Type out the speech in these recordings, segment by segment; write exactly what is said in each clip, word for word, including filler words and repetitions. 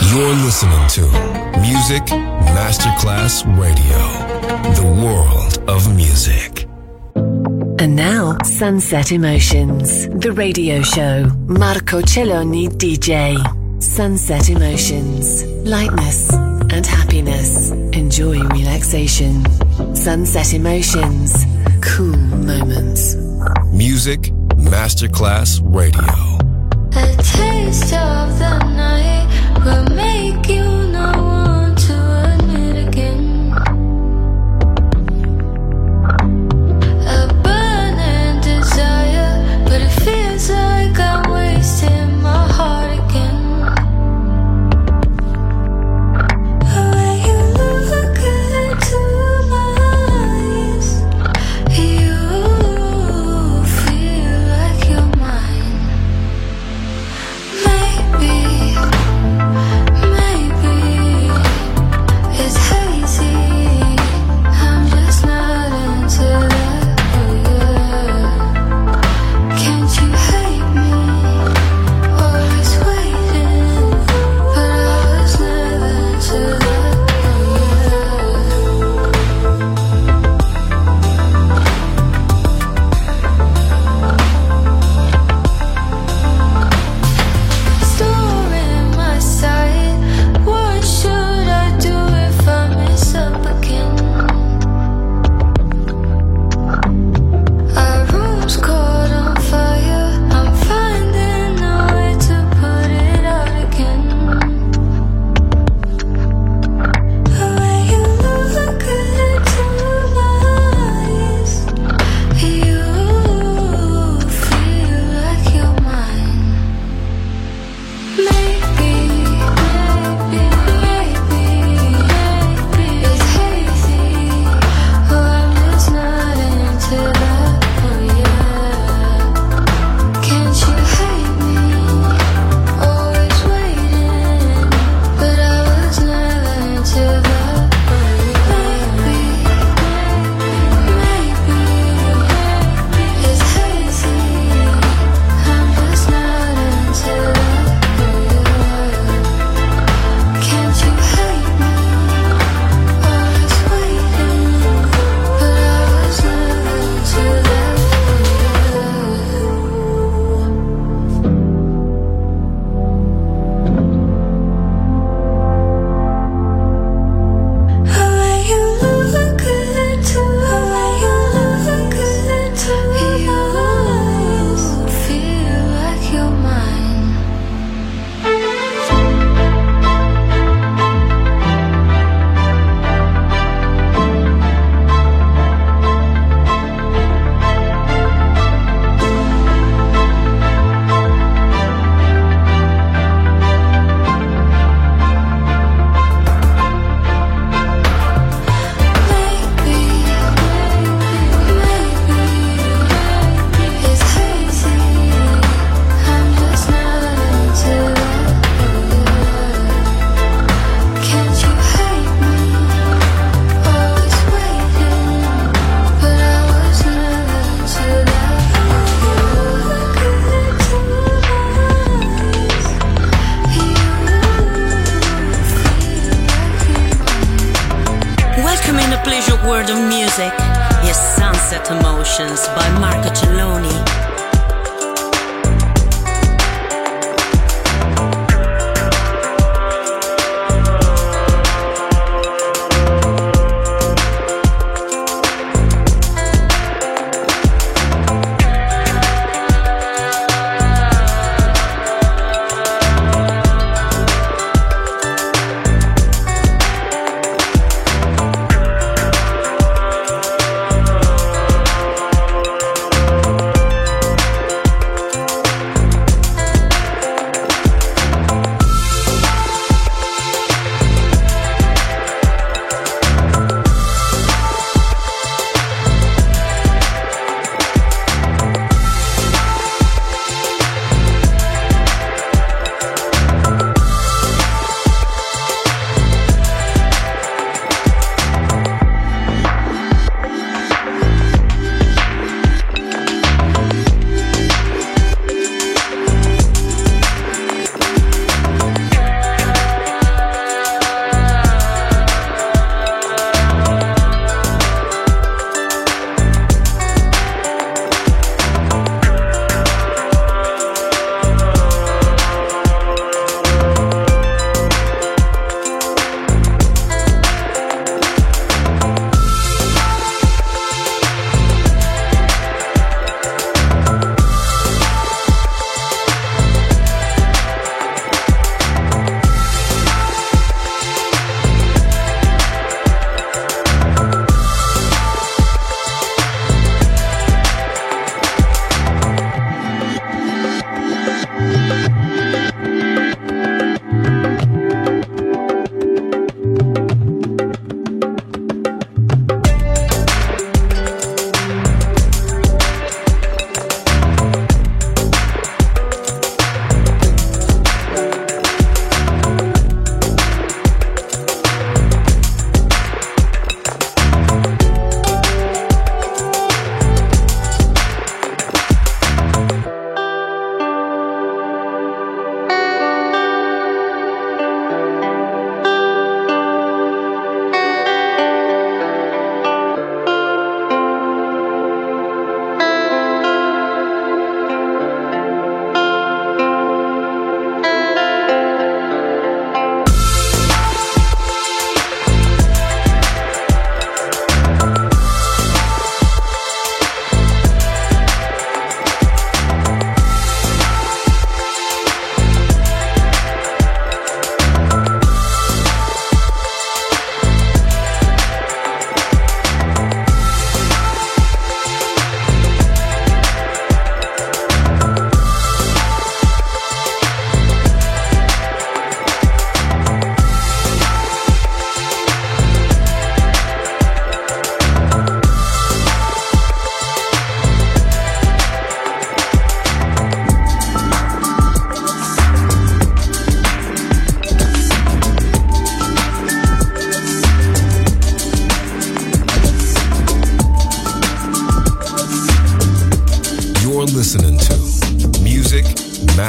You're listening to Music Masterclass Radio, the world of music. And now, Sunset Emotions, the radio show. Marco Celloni D J. Sunset Emotions, lightness and happiness. Enjoy relaxation. Sunset Emotions, cool moments. Music Masterclass Radio. A taste of the night will make you not want to admit again. A burning desire, but it feels like I'm wasting my heart again. When you look into my eyes, you feel like you're mine. Maybe, maybe it's hazy. I'm just not into that. Yeah. Can't you hate me? Always waiting, but I was never into that. Storing my sight. What should I do if I mess up again? Our room's caught on fire. I'm finding a way to put it out again. When you look into my eyes, you feel like you're mine. Maybe, maybe, maybe, maybe it's hazy. Oh, I'm just not into that. Oh yeah. Can't you hate me? Always waiting, but I was never into that. Maybe, maybe, it's hazy. I'm just not into that. Can't you hate me? Always waiting, but I was never into that. When you look into, when you look into your eyes, feel like you're mine. Maybe, maybe it's hazy. I'm just not into that. Can't you hate me? Always waiting, but I was never into that. Look into my eyes, you feel like you're mine. Welcome in the pleasure world of music. Yes, Sunset Emotions by Marco Celloni.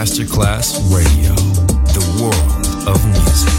Masterclass Radio, the world of music.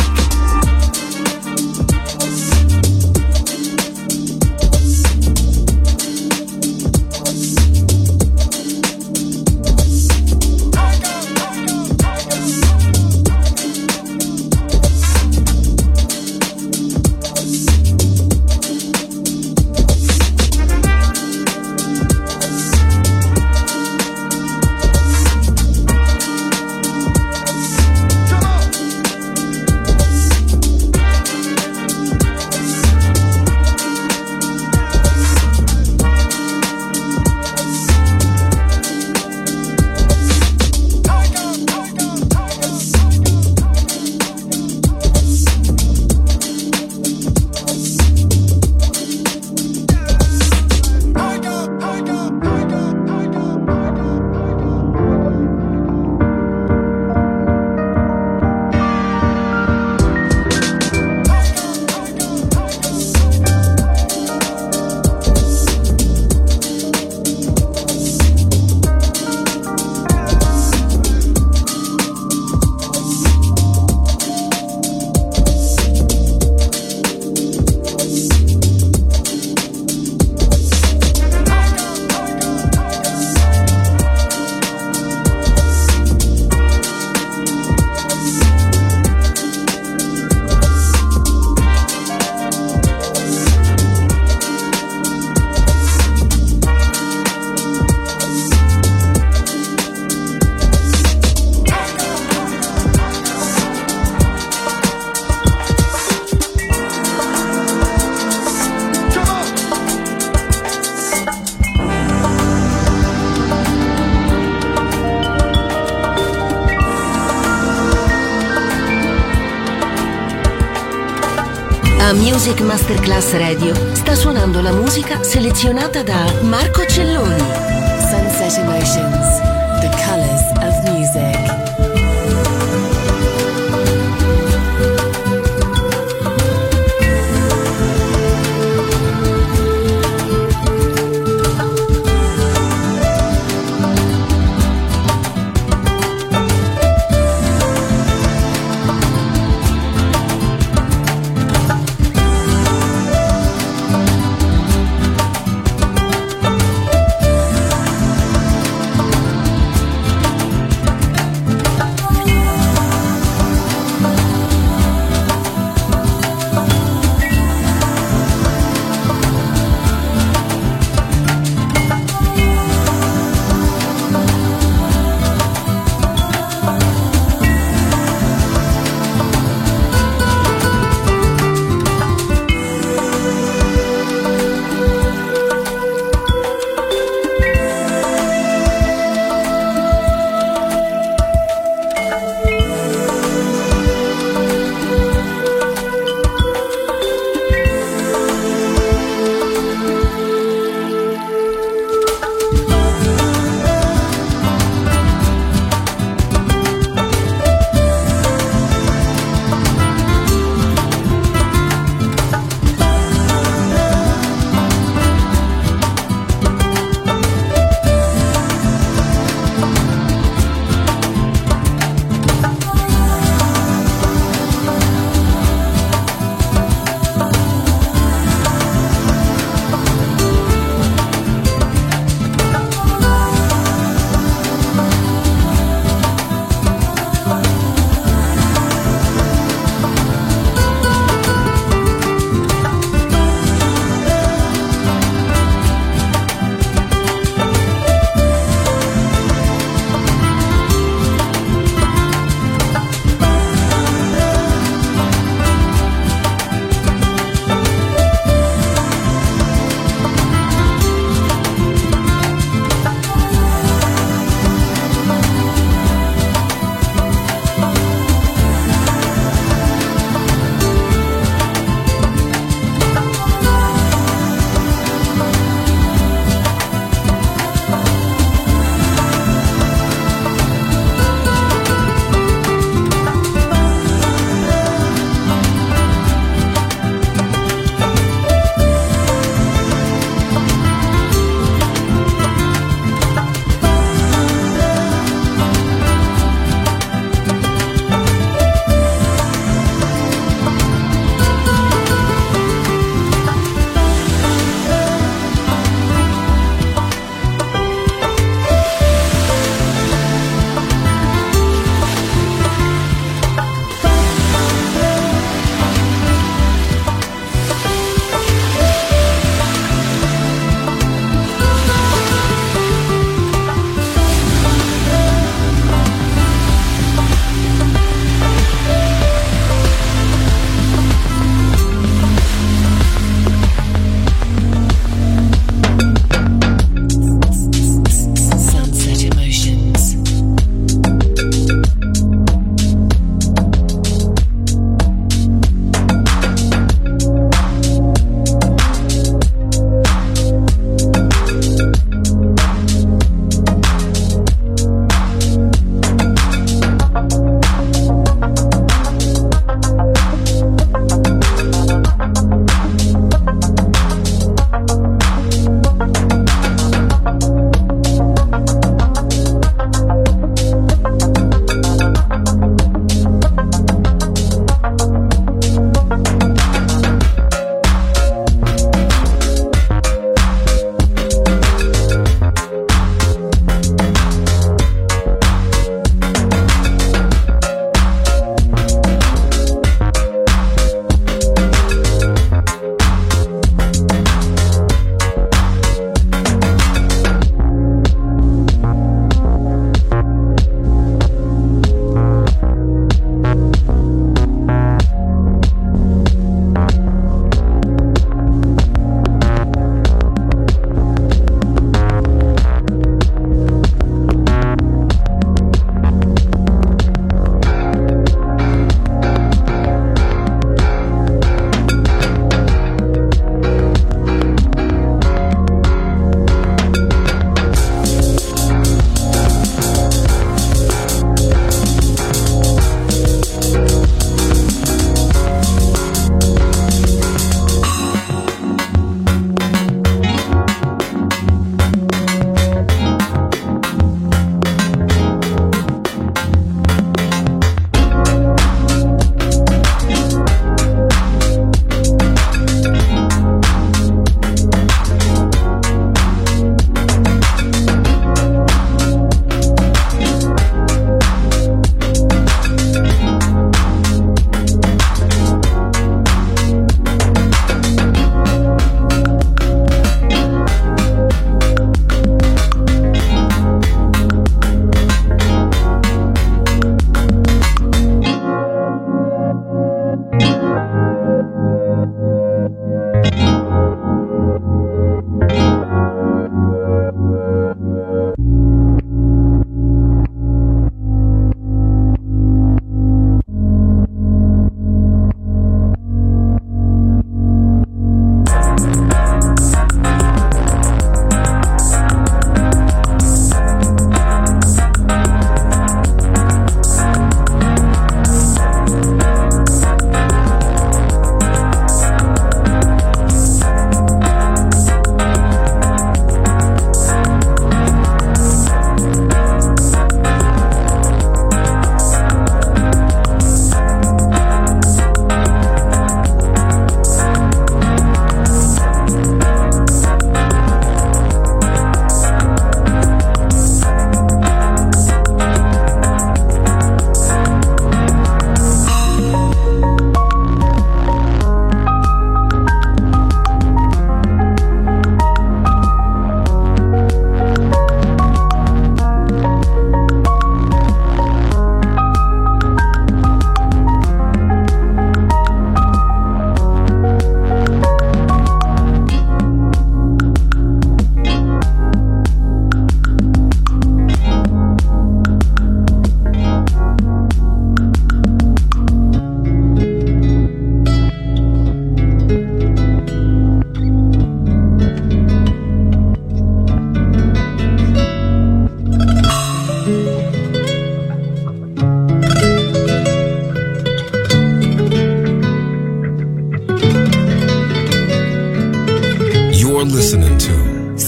Music Masterclass Radio sta suonando la musica selezionata da Marco Celloni. Sunset Emotions, the colors of music.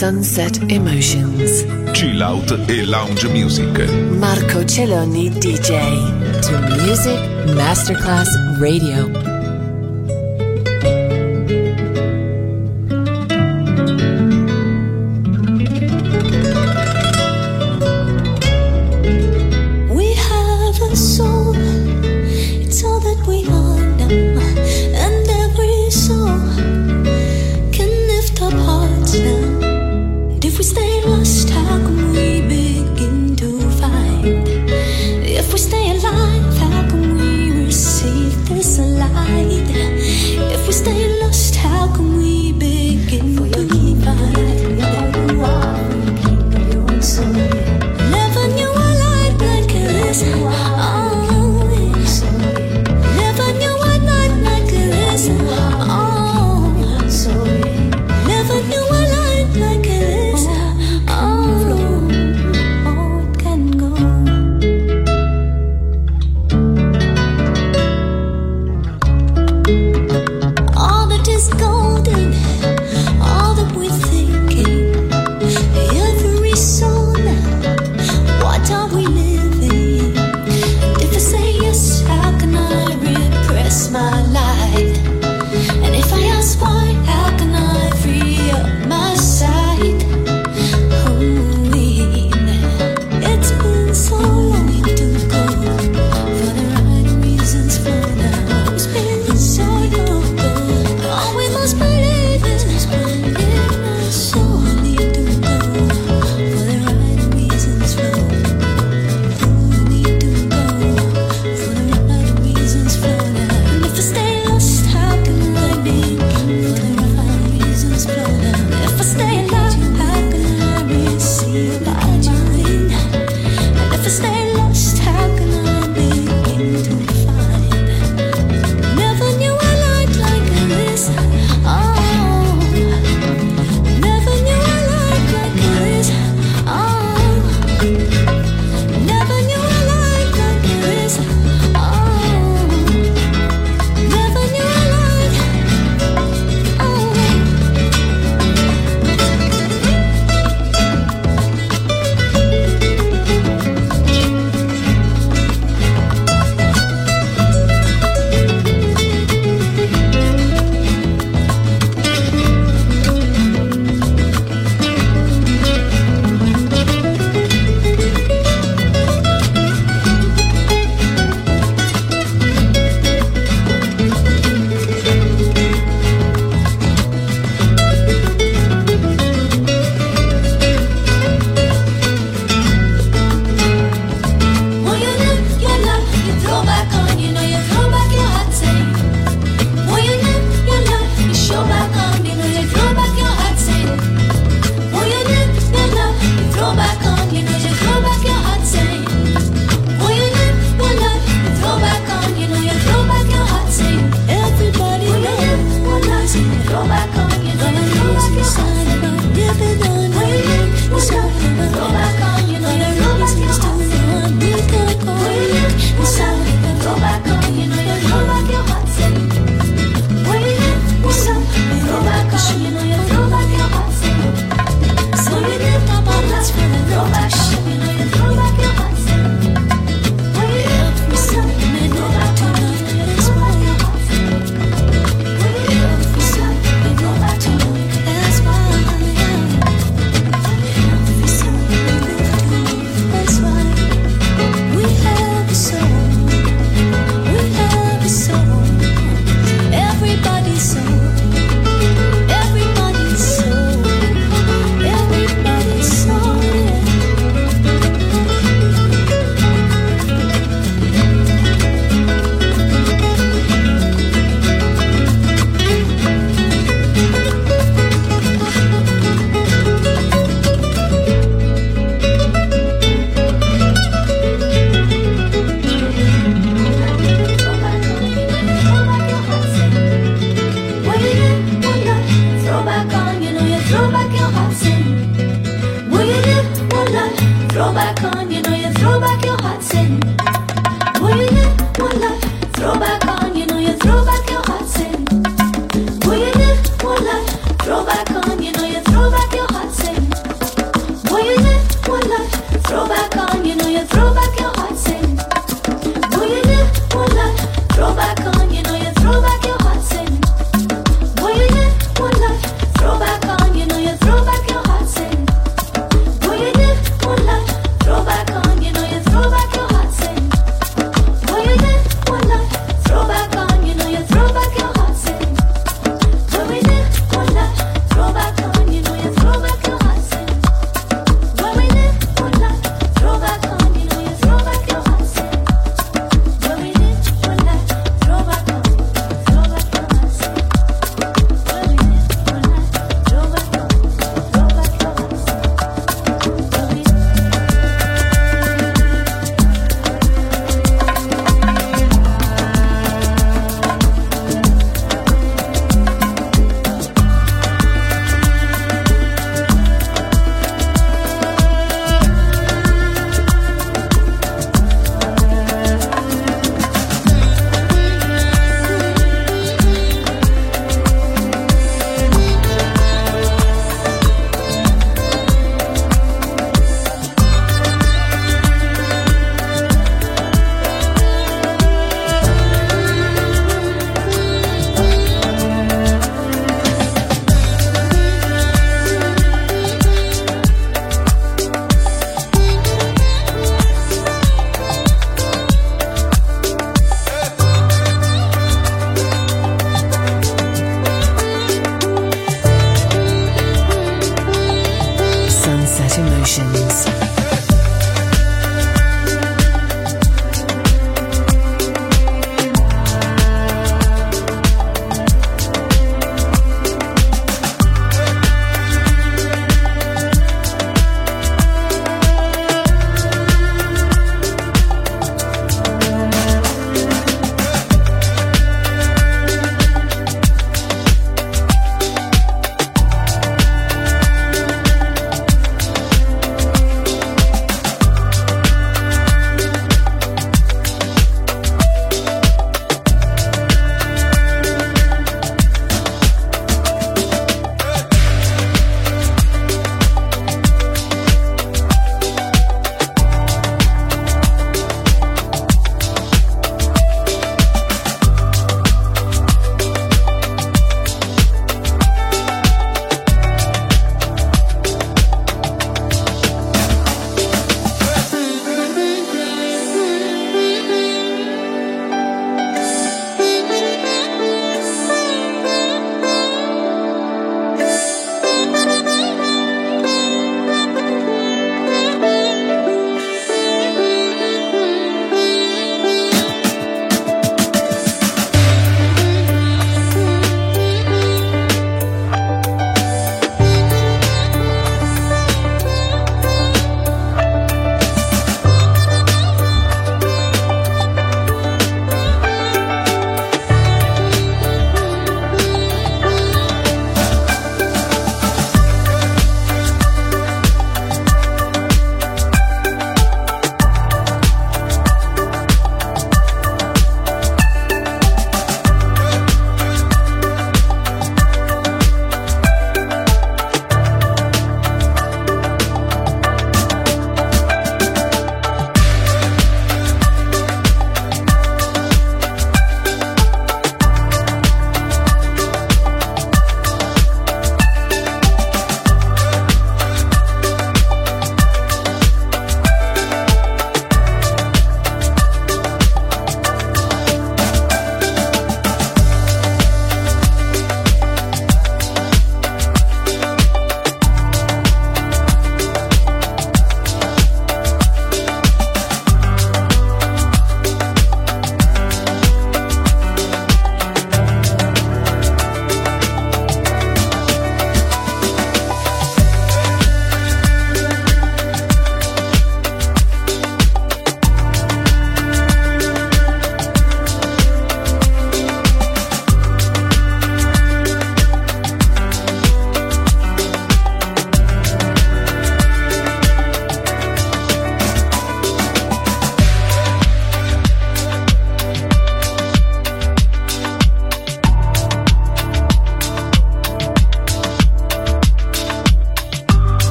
Sunset Emotions. Chill out e lounge music. Marco Celloni D J. To Music Masterclass Radio. If we stay alive, how can we receive this alive?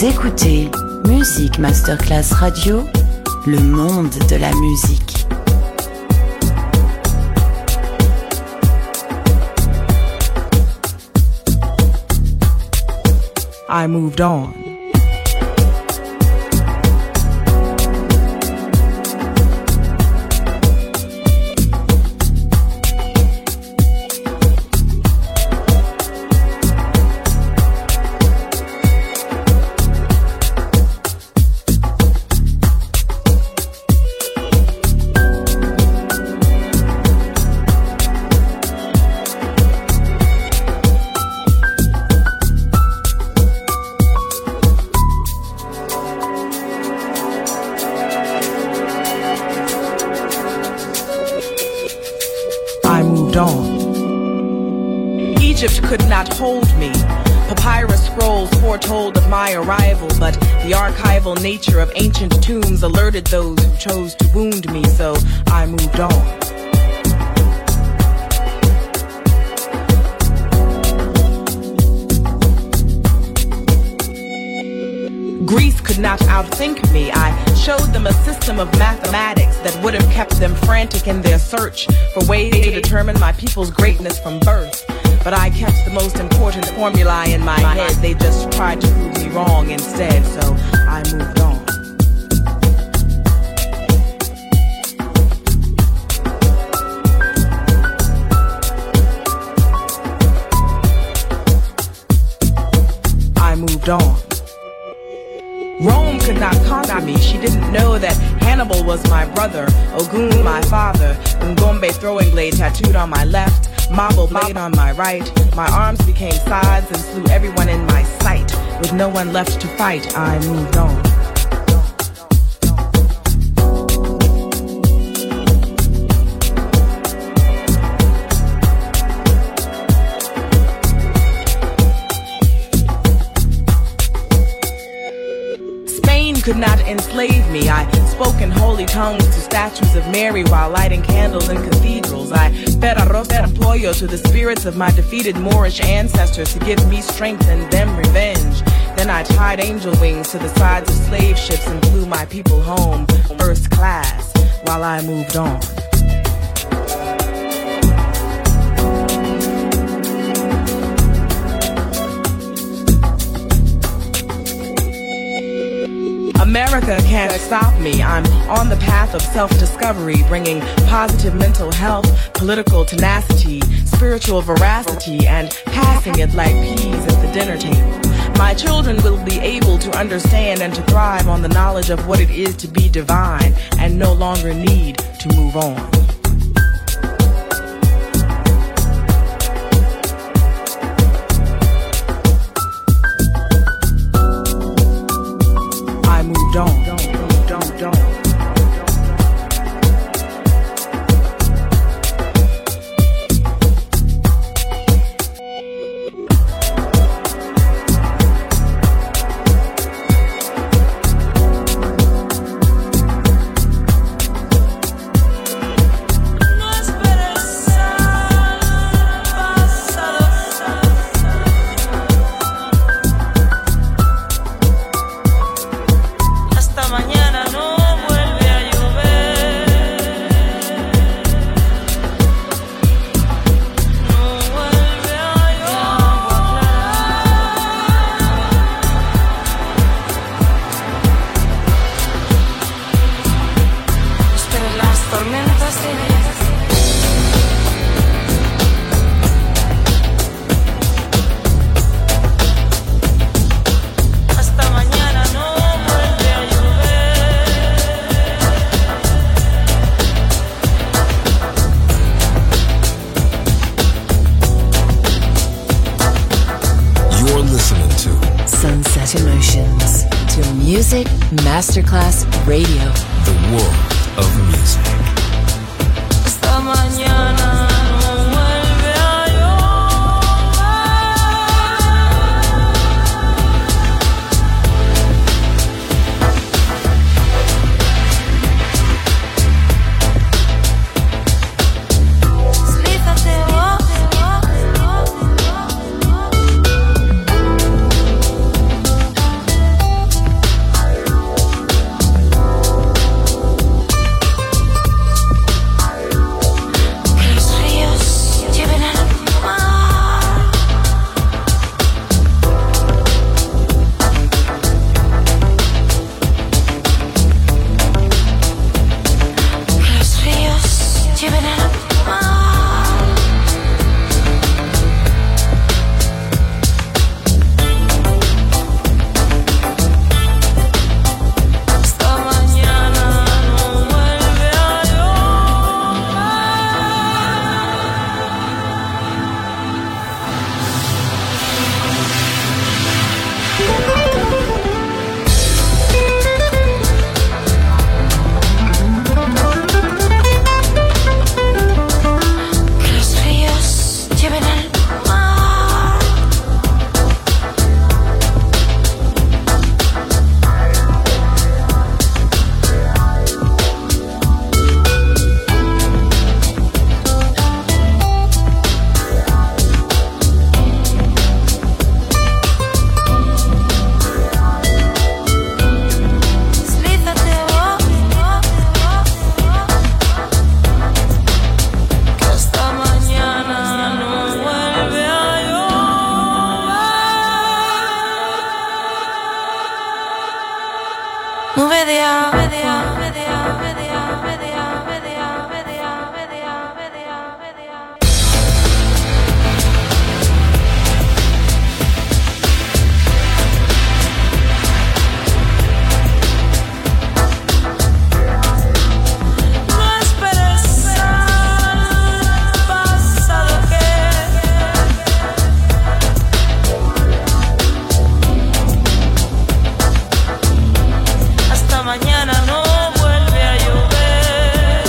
Vous écoutez Music Masterclass Radio, le monde de la musique. I moved on. Could not hold me. Papyrus scrolls foretold of my arrival, but the archival nature of ancient tombs alerted those who chose to wound me, so I moved on. Greece could not outthink me. I showed them a system of mathematics that would have kept them frantic in their search for ways to determine my people's greatness from birth. But I kept the most important formulae in my head. They just tried to prove me wrong instead, so I moved on. I moved on. Rome could not conquer me. She didn't know that Hannibal was my brother, Ogun my father, Ngombe throwing blade tattooed on my left, Mabo blade on my right. My arms became swords and slew everyone in my sight. With no one left to fight, I moved on. Could not enslave me. I spoke in holy tongues to statues of Mary while lighting candles in cathedrals. I fed arroz and pollo to the spirits of my defeated Moorish ancestors to give me strength and them revenge. Then I tied angel wings to the sides of slave ships and flew my people home first class while I moved on. America can't stop me. I'm on the path of self-discovery, bringing positive mental health, political tenacity, spiritual veracity, and passing it like peas at the dinner table. My children will be able to understand and to thrive on the knowledge of what it is to be divine and no longer need to move on. Don't, don't, don't, don't. Music Masterclass Radio. The world of music. Esta mañana no vuelve a llover. media, media, media, media, media, media, media, media, media, media. No esperes al pasado que hasta mañana no vuelve a llover.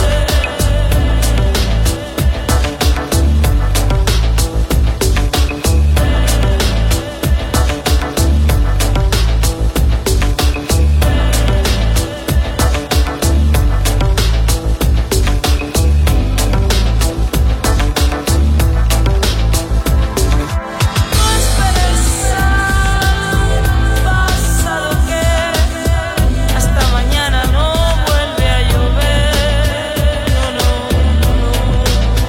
No esperes al pasado que hasta mañana no vuelve a llover. No, no, no.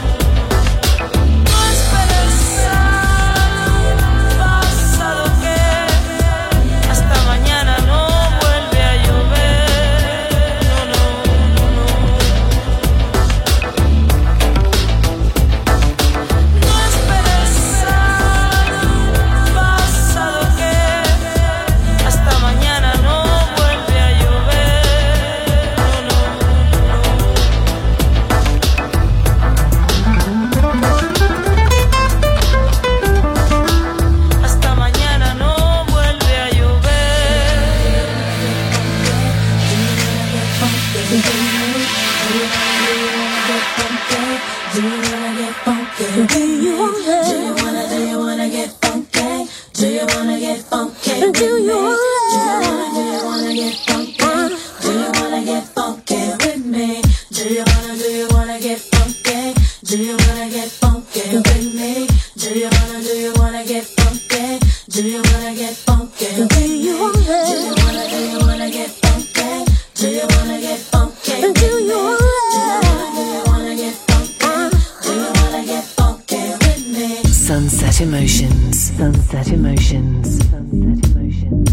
No esperes al pasado que hasta mañana no vuelve a llover. No, no, no. No esperes al pasado que hasta mañana no vuelve a llover. No, no, no. Hasta mañana no vuelve a llover. Sunset Emotions. Sunset Emotions. Sunset Emotions.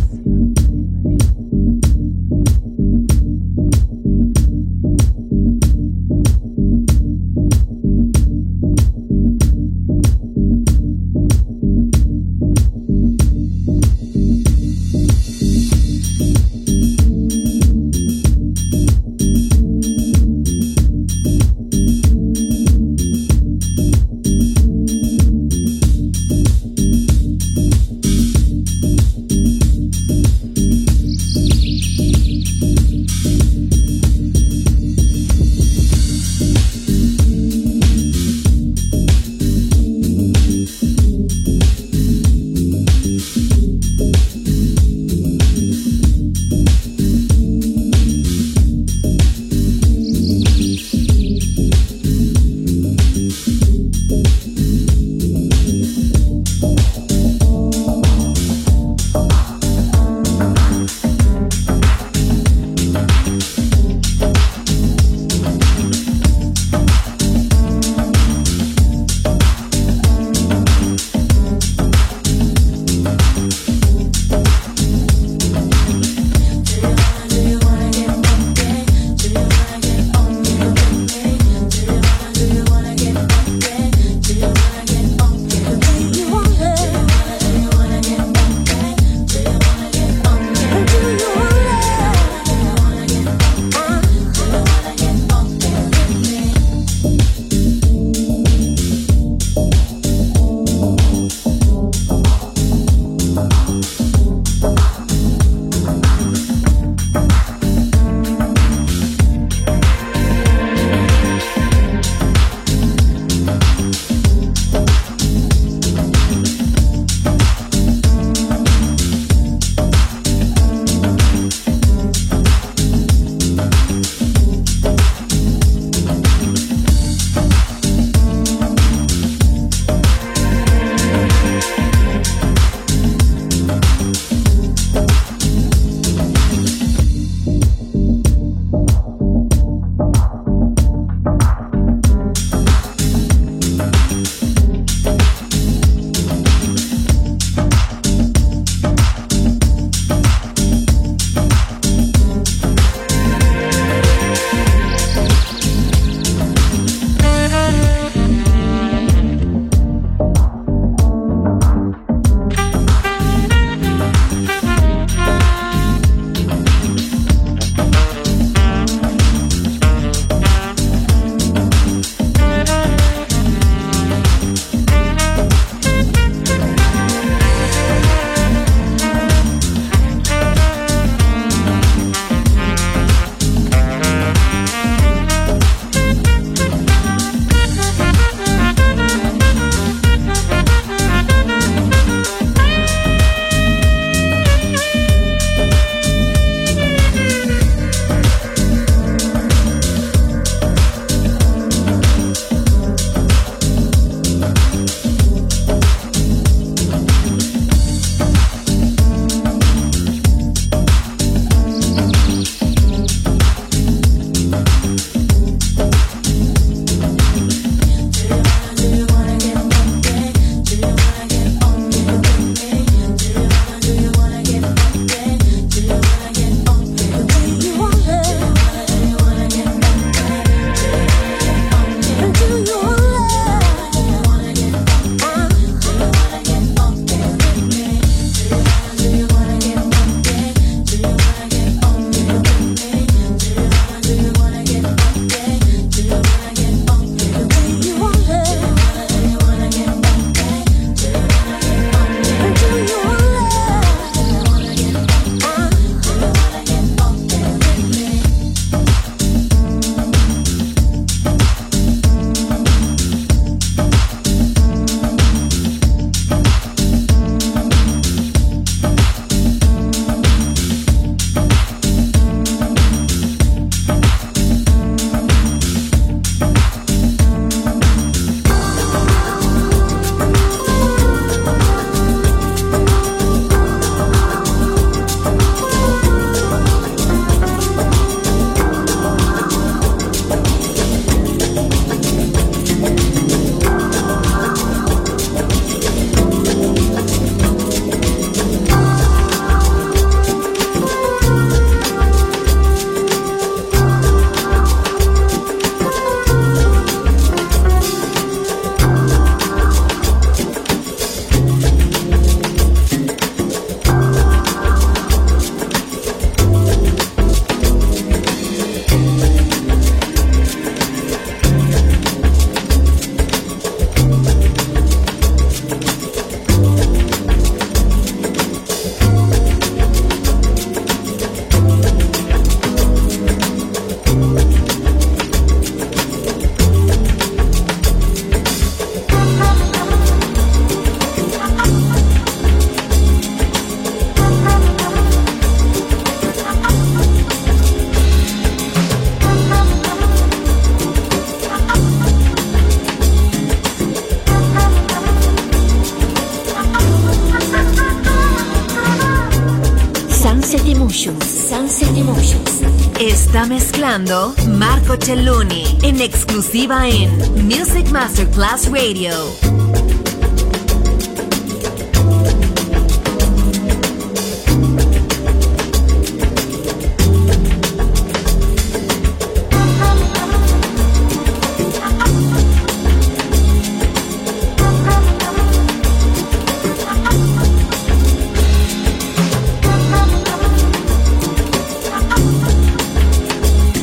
Sunset Emotions. Sunset Emotions. Está mezclando Marco Celloni en exclusiva en Music Masterclass Radio.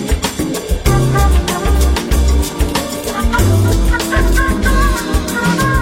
Thank you.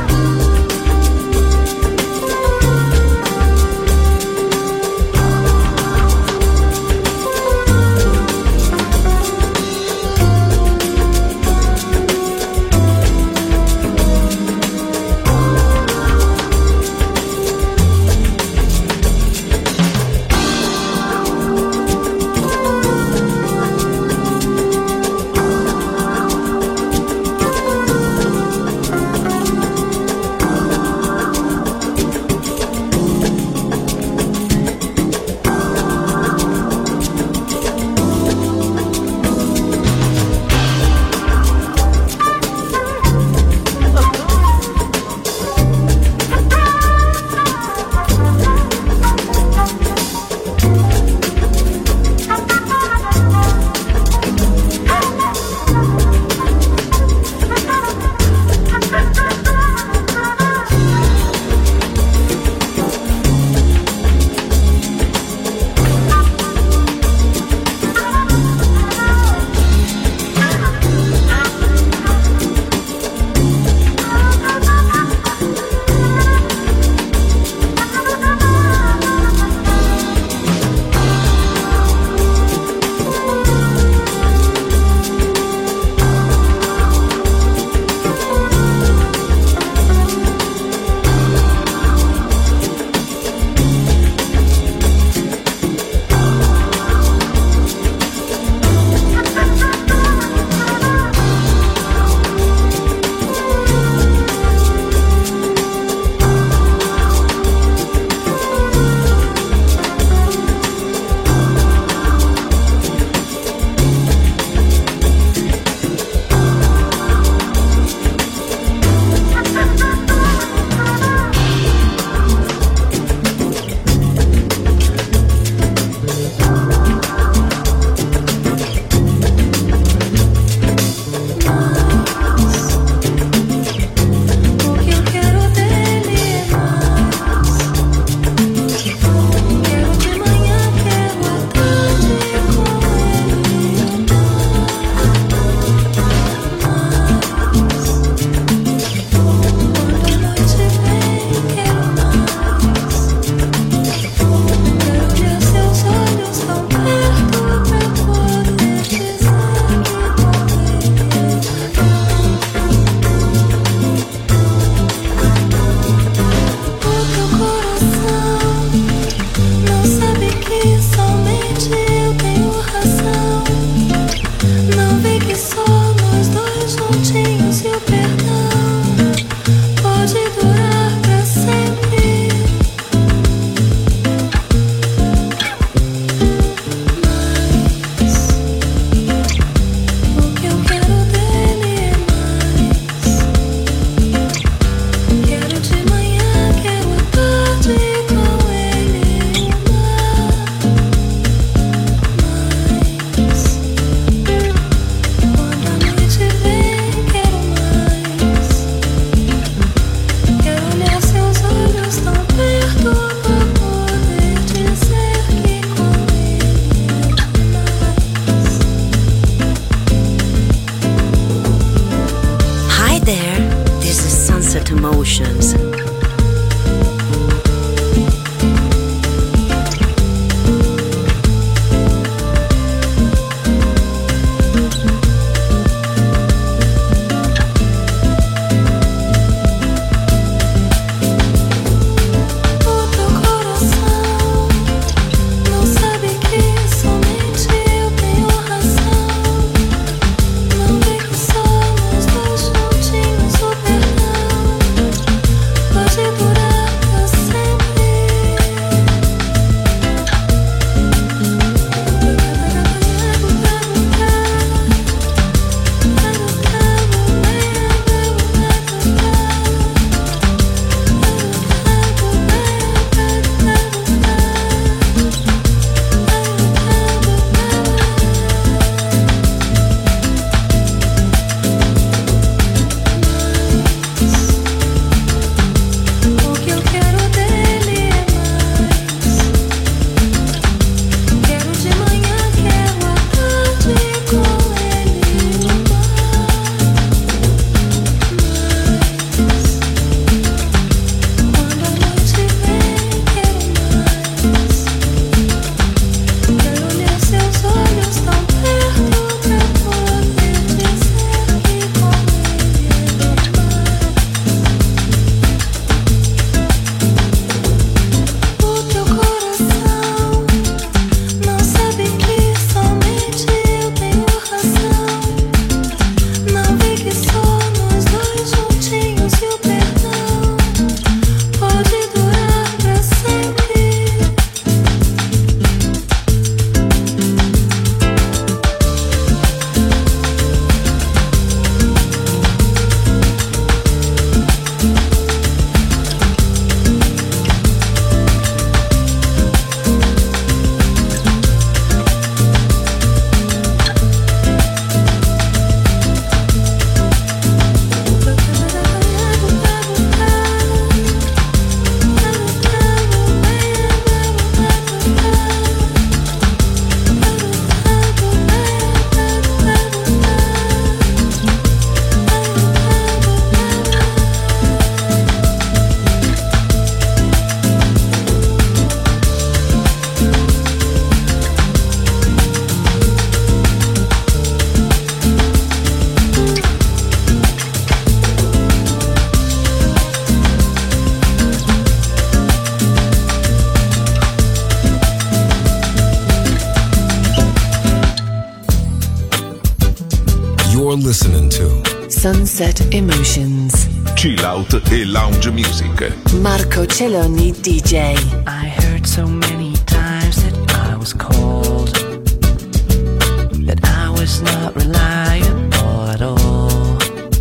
You're listening to Sunset Emotions. Chill out e lounge music. Marco Celloni D J. I heard so many times that I was cold, that I was not reliable at all.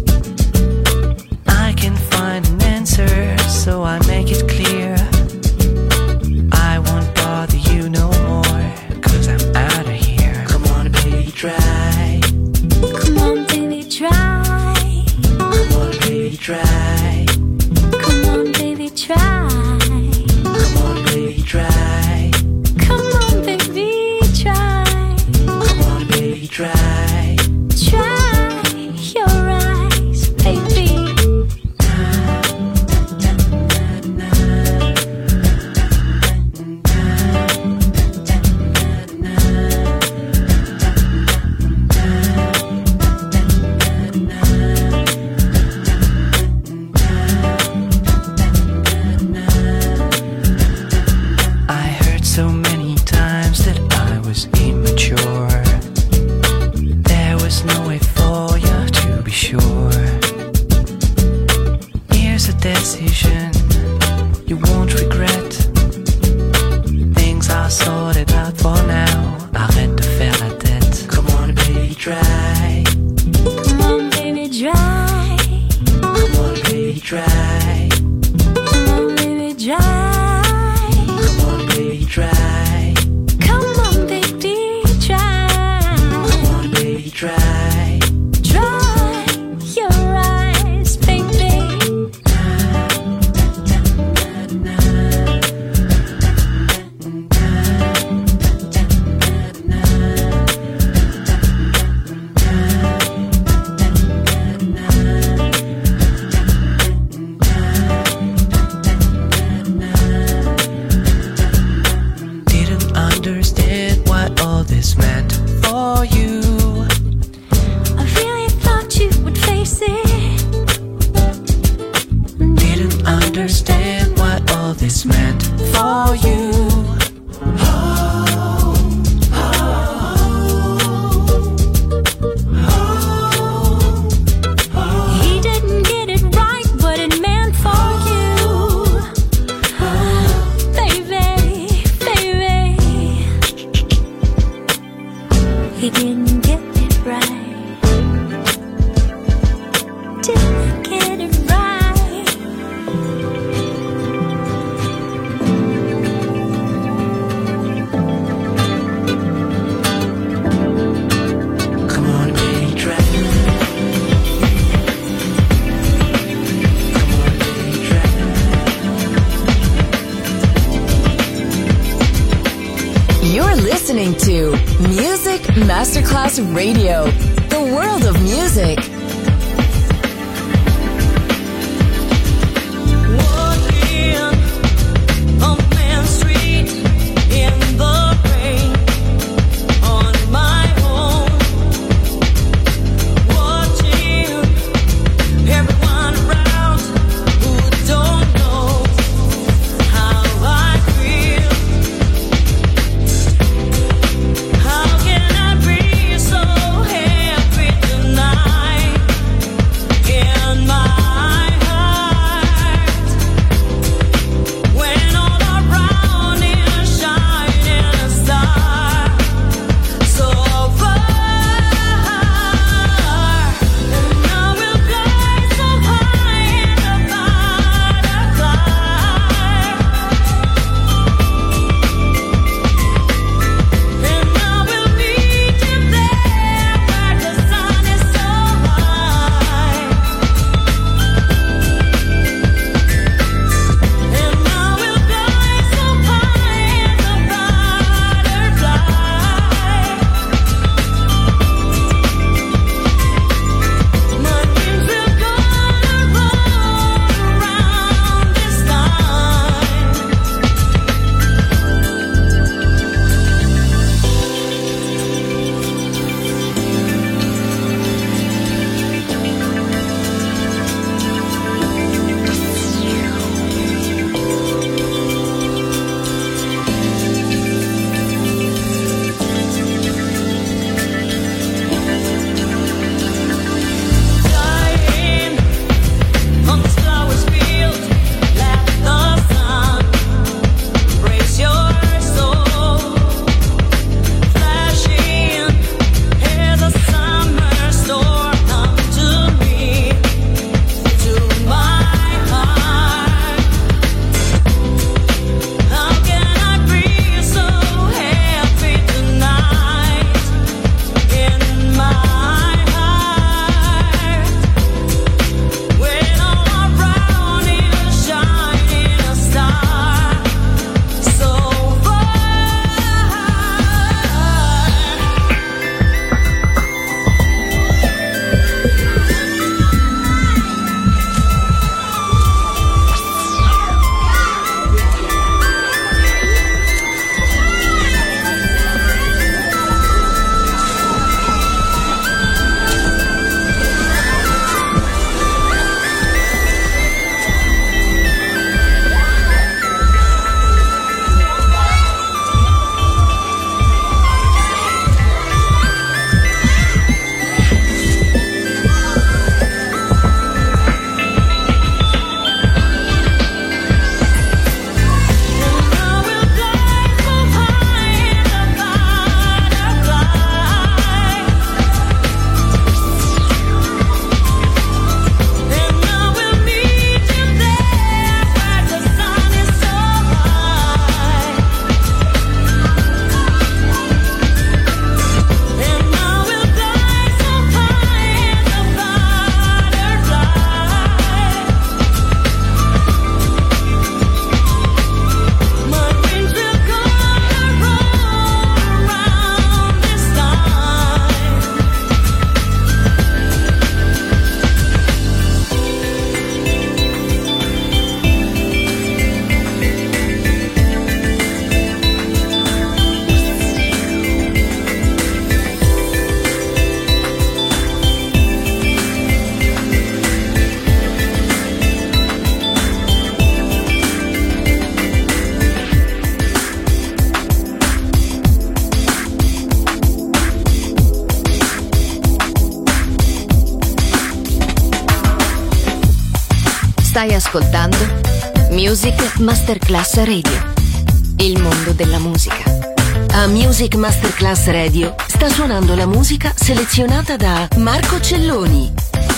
I can find an answer, so I make it clear. I won't bother you no more, 'cause I'm out of here. Come on, baby, try. Come on, baby, try. Come on, baby, try. Come on, baby, try. Come on, baby, try. Come on, baby, try. Come on, baby, try. Try your eyes, baby. I heard so many times that I was immature. There was no way for you to be sure. Here's a decision you won't regret. Things are sorted out for now. Arrête de faire la tête. Come on, baby, try. Come on, baby, try. Come on, baby, try. Come on, baby, try. Come on, baby, try. Come on, baby, try. Come on, baby, try. Dry your eyes, baby. Didn't understand what all this meant for you. I really thought you would face it. Didn't understand what all this meant for you. He didn't get it right, but it meant for you. Baby, baby. He didn't get it right. Didn't get it right. Come on, baby, try. Come on, baby, try. You're listening to Music Masterclass Radio, the world of music. Walking on Main Street in the rain on my own, watching everyone around who don't know how I feel. How can I be so happy tonight? Stai ascoltando Music Masterclass Radio, il mondo della musica. A Music Masterclass Radio sta suonando la musica selezionata da Marco Celloni.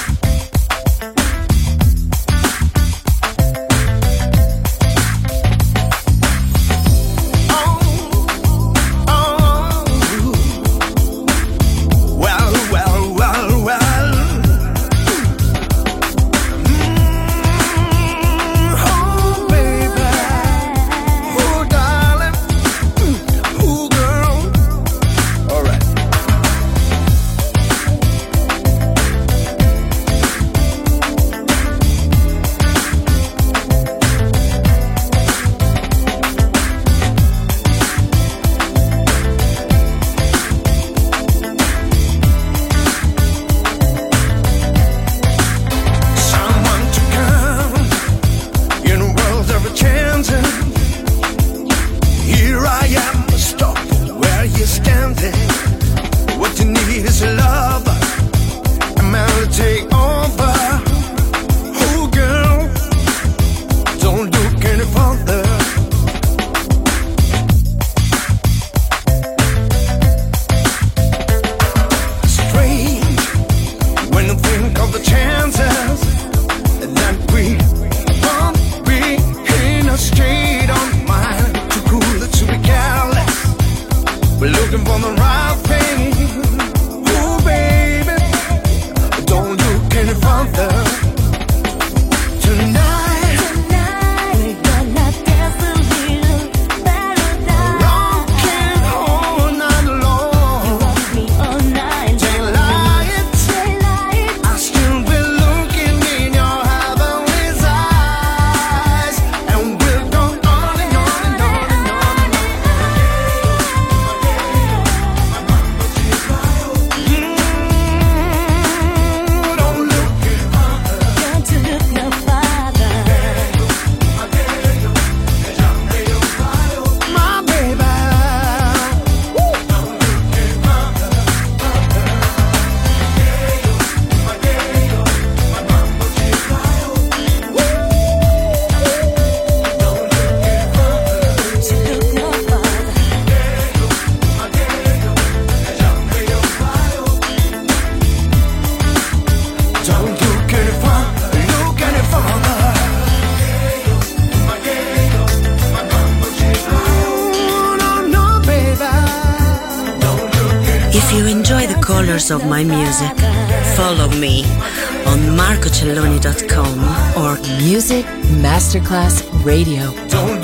Of my music, follow me on marco celloni dot com or Music Masterclass Radio. Don't